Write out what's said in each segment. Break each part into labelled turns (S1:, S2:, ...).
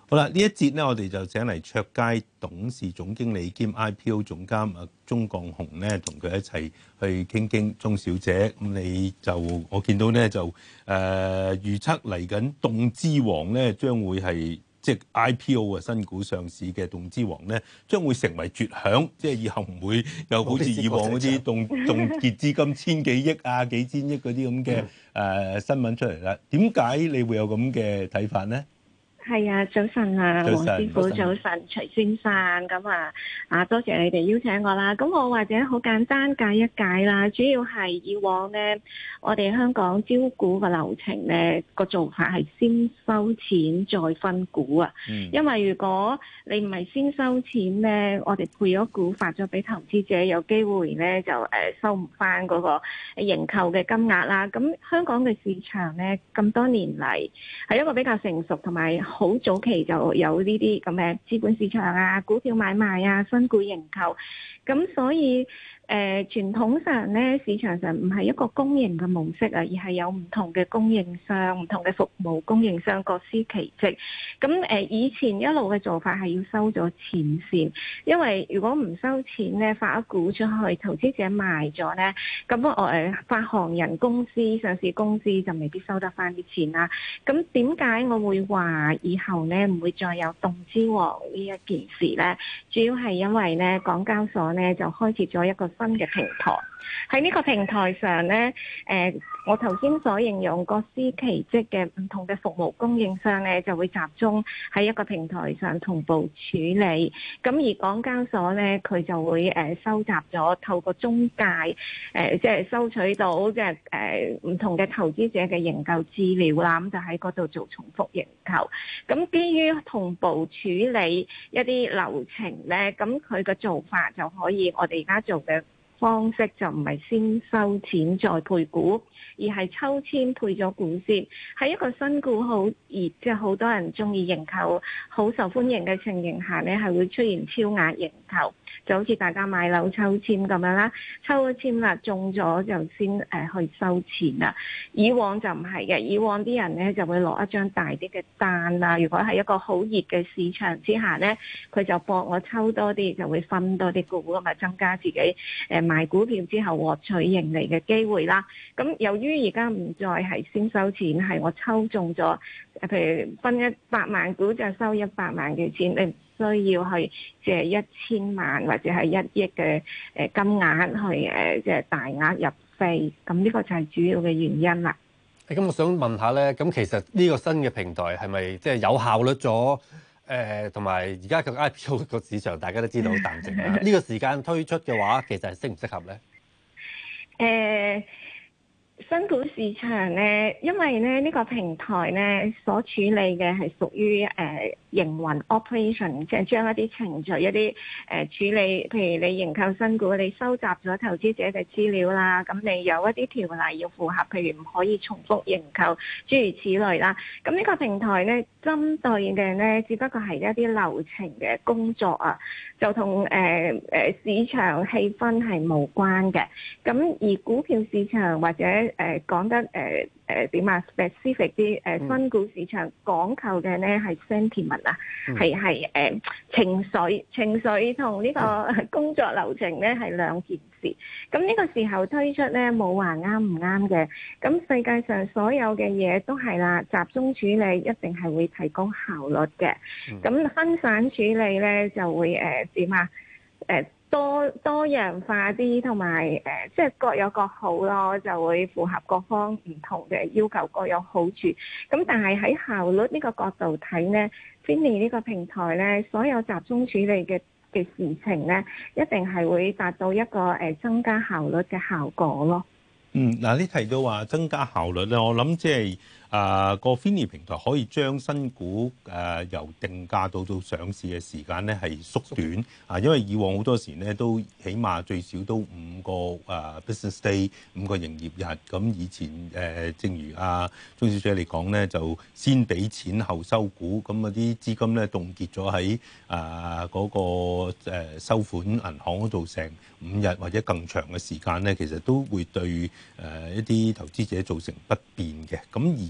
S1: 好啦，呢一節咧，我哋就請嚟卓佳董事總經理兼 IPO 總監鐘鋼雄咧，同佢一齊去傾傾。鐘小姐，咁你就我見到咧就預測嚟緊動資王咧，將會係即係 IPO 新股上市嘅動資王咧，將會成為絕響，即係以後唔會又好似以往嗰啲凍結資金千幾億啊、幾千億嗰啲咁嘅新聞出嚟啦。點解你會有咁嘅睇法咧？
S2: 係啊，早晨啊，黃師傅，早晨，徐先生，咁多謝你哋邀請我啦。咁我或者好簡單解一解啦，主要係以往呢，我哋香港招股嘅流程呢個做法係先收錢再分股啊。因為如果你唔係先收錢呢，我哋配咗股發咗俾投資者，有機會呢就收唔翻嗰個認購嘅金額啦。咁香港嘅市場呢，咁多年嚟係一個比較成熟同埋好早期就有呢啲咁嘅資本市場啊、股票買賣啊、新股認購，咁所以傳統上咧，市場上唔係一個公營嘅模式啊，而係有唔同嘅供應商、唔同嘅服務供應商各司其職。咁以前一路嘅做法係要收咗錢先，因為如果唔收錢咧，發咗股出去，投資者賣咗咧，咁我發行人公司、上市公司就未必收得翻啲錢啦。咁點解我會話以後咧唔會再有動資王呢一件事咧？主要係因為咧，港交所咧就開設咗一個新嘅平台，喺呢個平台上呢，我頭先所形容各司其職嘅唔同嘅服務供應商呢，就會集中喺一個平台上同步處理。咁而港交所呢，佢就會收集咗透過中介即係收取到即係唔同嘅投資者嘅認購資料啦，咁就喺嗰度做重複認購。咁基於同步處理一啲流程呢，咁佢嘅做法就可以我哋而家做嘅方式就唔係先收錢再配股，而係抽籤配咗股先。喺一個新股好熱，即係好多人中意認購、好受歡迎嘅情形下呢，係會出現超額認購，就好似大家買樓抽籤咁樣啦，抽咗籤啦，中咗就先去收錢啦。以往就唔係嘅，以往啲人呢就會攞一張大啲嘅單啦。如果係一個好熱嘅市場之下呢，佢就博我抽多啲，就會分多啲股咁啊，增加自己賣股票之後獲取盈利嘅機會啦。咁由於而家唔再係先收錢，係我抽中咗，譬如分100萬股就收100萬嘅錢，你唔需要去借1000萬或者係1億嘅金額去即係大額入飛。咁呢個就係主要嘅原因啦。
S3: 咁我想問下咧，咁其實呢個新嘅平台係咪即係有效率咗？同埋而家個 IPO 個市場大家都知道好淡靜啦。呢個時間推出嘅話，其實係適唔適合咧？
S2: 新股市場咧，因為咧呢個平台咧所處理嘅係屬於營運 operation， 即係將一啲程序、一啲處理，譬如你認購新股，你收集咗投資者嘅資料啦，咁你有一啲條例要符合，譬如唔可以重複認購，諸如此類啦。咁呢個平台咧，針對嘅咧，只不過係一啲流程嘅工作啊，就同市場氣氛係無關嘅。咁而股票市場或者講得點啊 specific 啲新股市場講求嘅咧係 sentiment 啊，係情緒同呢個工作流程咧係兩件事。咁呢個時候推出咧冇話啱唔啱嘅。咁世界上所有嘅嘢都係啦，集中處理一定係會提高效率嘅。咁分散處理咧就會點啊多樣化啲，同埋即係各有各好咯，就會符合各方唔同嘅要求，各有好處。咁但係喺效率呢個角度睇呢，Finny 呢個平台呢，所有集中處理嘅事情呢，一定係會達到一個增加效率嘅效果咯。
S1: 嗱，你提到話增加效率咧，我諗即係個 Finny 平台可以將新股由定價到上市嘅時間咧係縮短啊，因為以往好多時咧都起碼最少都5個business day 5個營業日，咁以前正如鐘小姐嚟講咧，就先俾錢後收股，咁嗰啲資金咧凍結咗喺嗰個收款銀行嗰度成5日或者更長嘅時間咧，其實都會對一啲投資者造成不便嘅。咁而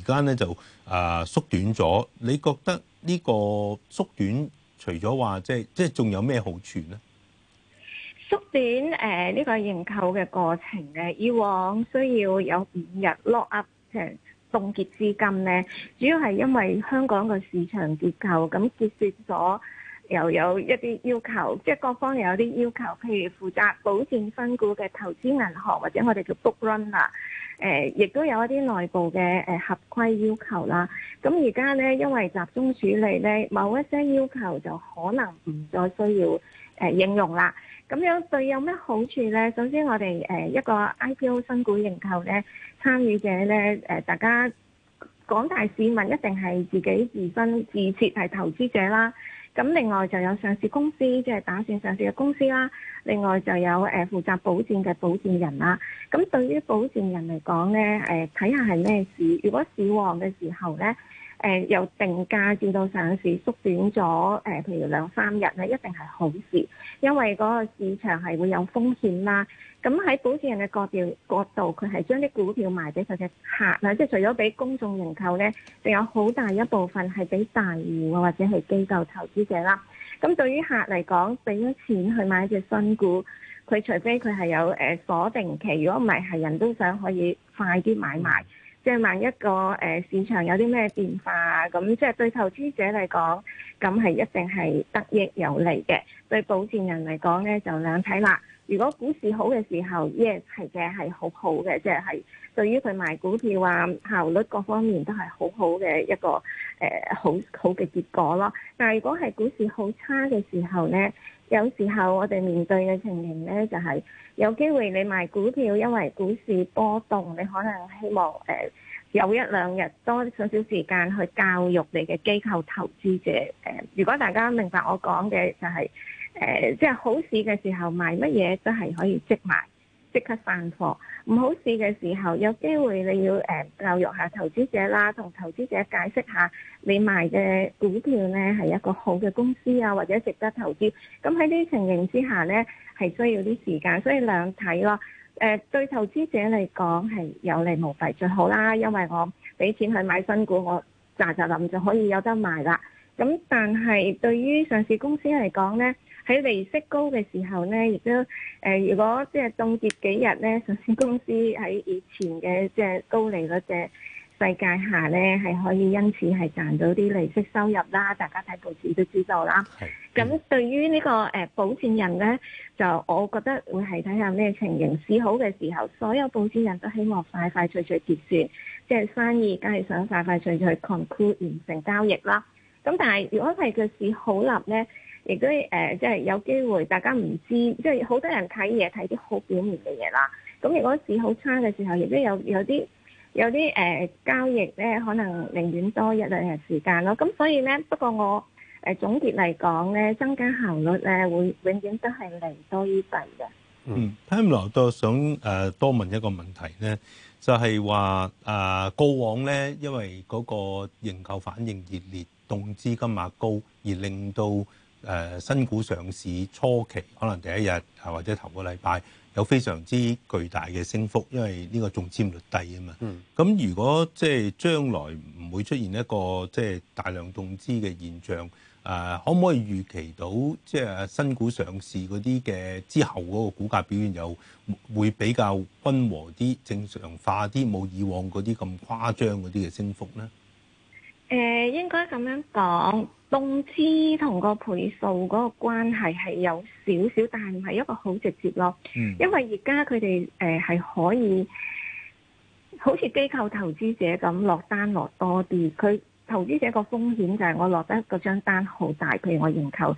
S1: 家咧就縮短咗。你覺得呢個縮短除咗話即係仲有咩好處咧？
S2: 縮短呢個認購嘅過程咧，以往需要有5日 lock up 即係凍結資金咧，主要係因為香港個市場結構咁結算咗，又有一啲要求，即係各方又有啲要求，譬如負責保薦新股嘅投資銀行或者我哋叫 book runner，亦都有一啲內部嘅合規要求啦。咁而家咧，因為集中處理咧，某一些要求就可能唔再需要應用啦。咁樣對有咩好處呢？首先我哋一個 IPO 新股認購呢，參與者呢，大家廣大市民一定係自己自身自設係投資者啦。咁另外就有上市公司，即係打算上市嘅公司啦。另外就有負責保薦嘅保薦人啦。咁對於保薦人嚟講呢，睇下係咩市。如果市旺嘅時候呢，由定價至到上市縮短咗，譬如2-3日咧，一定係好事，因為嗰個市場係會有風險啦。咁喺保薦人嘅角度，佢係將啲股票賣俾佢嘅客啦，即係除咗俾公眾認購咧，仲有好大一部分係俾大戶或者係機構投資者啦。咁對於客嚟講，俾咗錢去買隻新股，佢除非佢係有鎖定期，如果唔係人都想可以快啲買賣。即係萬一個市場有啲咩變化，咁即係對投資者嚟講，咁係一定係得益有利嘅。對保薦人嚟講咧，就兩睇啦。如果股市好嘅時候，yes 係嘅，係好好嘅，即係對於佢賣股票啊效率各方面都係好好嘅一個好嘅結果咯。但係如果係股市好差嘅時候咧，有時候我哋面對嘅情形咧，就係有機會你賣股票，因為股市波動，你可能希望有1-2日多少少時間去教育你嘅機構投資者。如果大家明白我講嘅就係即係好市嘅時候賣乜嘢都係可以即賣即刻散貨，唔好市嘅時候有機會你要教育下投資者啦，同投資者解釋下你賣嘅股票呢係一個好嘅公司啊，或者值得投資。咁喺呢啲情形之下呢，係需要啲時間，所以兩睇咯。對投資者嚟講係有利無弊最好啦，因為我俾錢去買新股，我咋臨就可以有得賣啦。咁但係對於上市公司嚟講呢，喺利息高嘅時候呢，亦都如果即係凍結幾日呢，上市公司喺以前嘅即係高利率嘅世界下呢，係可以因此係賺到啲利息收入啦。大家睇報紙都知道啦。咁對於呢個保薦人呢，就我覺得會係睇下咩情形。市好嘅時候，所有保薦人都希望快快脆脆結算，即係生意梗係想快快脆脆 conclude 完成交易啦。咁但係如果係個市好立呢，亦都即係有機會大家唔知，即係好多人睇嘢睇啲好表面嘅嘢啦。咁如果市好差嘅時候，亦都有啲交易咧，可能寧願多1-2日時間咯。咁所以咧，不過我總結嚟講咧，增加效率咧，會永遠都係利多於弊嘅。
S1: 聽落都想多問一個問題咧，就係話過往咧，因為嗰個認購反應熱烈，動資金額高，而令到新股上市初期可能第一日或者頭個禮拜有非常之巨大嘅升幅，因為呢個中籤率低啊嘛。咁如果即係將來唔會出現一個即係大量動資嘅現象，可唔可以預期到即係新股上市嗰啲嘅之後嗰個股價表現又會比較溫和啲、正常化啲，冇以往嗰啲咁誇張嗰啲嘅升幅咧？
S2: 應該咁樣講，動資同個倍數嗰個關係係有少少，但係唔係一個好直接咯。因為而家佢哋係可以好似機構投資者咁落單落多啲，佢投資者個風險就係我落得嗰張單好大，譬如我認購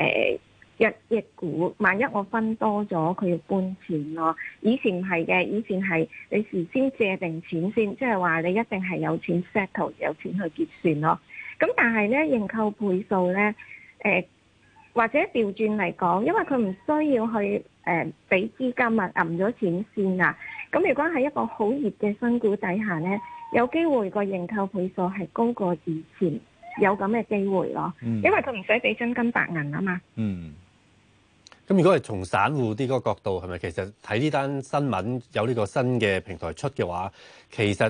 S2: 1億股，萬一我分多咗，佢要搬錢咯。以前唔係嘅，以前係你事先借定錢先，即係話你一定係有錢 settle， 有錢去結算咯。咁但係咧認購倍數咧，或者調轉嚟講，因為佢唔需要去俾資金啊，揞咗錢先啊。咁如果喺一個好熱嘅新股底下咧，有機會個認購倍數係高過以前，有咁嘅機會咯。因為佢唔使俾真金白銀啊嘛。
S3: 咁如果係從散戶啲嗰個角度，係咪其實睇呢單新聞有呢個新嘅平台出嘅話，其實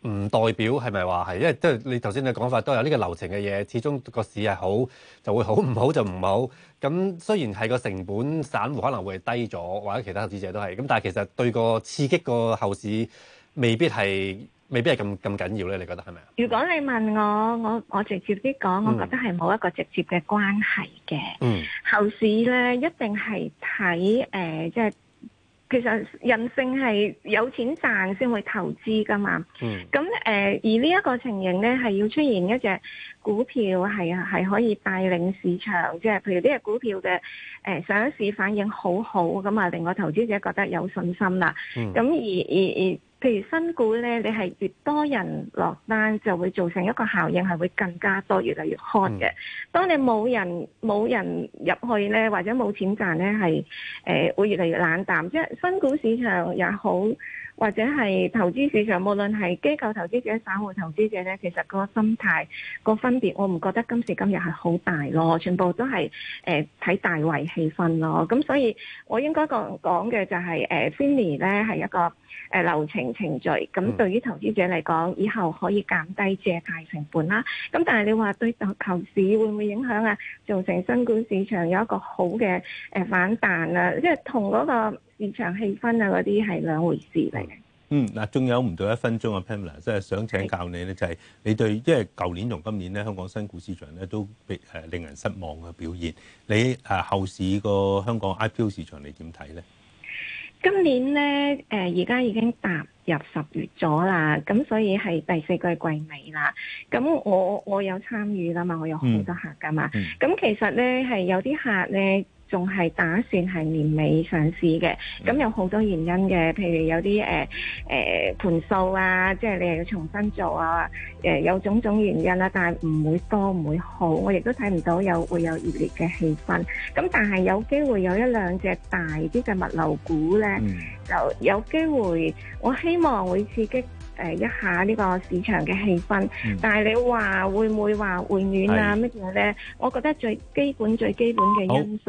S3: 唔代表係咪話係，因為即係你頭先嘅講法都有呢個流程嘅嘢，始終個市係好就會好，唔好就唔好。咁雖然係個成本散戶可能會低咗，或者其他投資者都係，咁但係其實對個刺激個後市未必係咁緊要咧？你覺得係咪啊？
S2: 如果你問我直接啲講，我覺得係冇一個直接嘅關係嘅。後市咧一定係睇即係。其實人性係有錢賺先會投資噶嘛，咁而呢一個情形咧係要出現一隻股票係可以帶領市場，即係譬如呢隻股票嘅上市反應好好，咁啊令個投資者覺得有信心啦。咁而譬如新股咧，你係越多人落單，就會造成一個效應，係會更加多，越嚟越 hot 嘅。當你冇人入去咧，或者冇錢賺咧，係會越嚟越冷淡。即係新股市場也好，或者係投資市場，無論係機構投資者、散戶投資者咧，其實個心態個分別，我唔覺得今時今日係好大咯。全部都係睇大圍氣氛咯。咁所以我應該講嘅就係FINI 咧係一個流程序。咁對於投資者嚟講，以後可以減低借貸成本啦。咁但係你話對後市會唔會影響啊？造成新股市場有一個好嘅反彈啊？即係同嗰個市場氣氛啊嗰啲係兩回事嚟嘅。
S1: 嗱，仲有唔到1分鐘啊 Pamela， 即係想請教你咧，就係你對，因為舊年同今年咧，香港新股市場咧都令人失望嘅表現。你後市個香港 IPO 市場你點睇咧？
S2: 今年咧而家已經踏入10月咗啦，咁所以係第4季季尾啦。咁我有參與啦嘛，我有好多客噶嘛。咁其實咧係有啲客咧，仲係打算係年尾上市嘅，咁有好多原因嘅，譬如有啲盤數啊，即係你又要重新做啊，有種種原因啦，但係唔會多唔會好，我亦都睇唔到會有熱烈嘅氣氛。咁但係有機會有一兩隻大啲嘅物流股咧，就有機會，我希望會刺激一下呢個市場嘅氣氛。但係你話會唔會話回暖啊乜嘢咧？我覺得最基本嘅因素。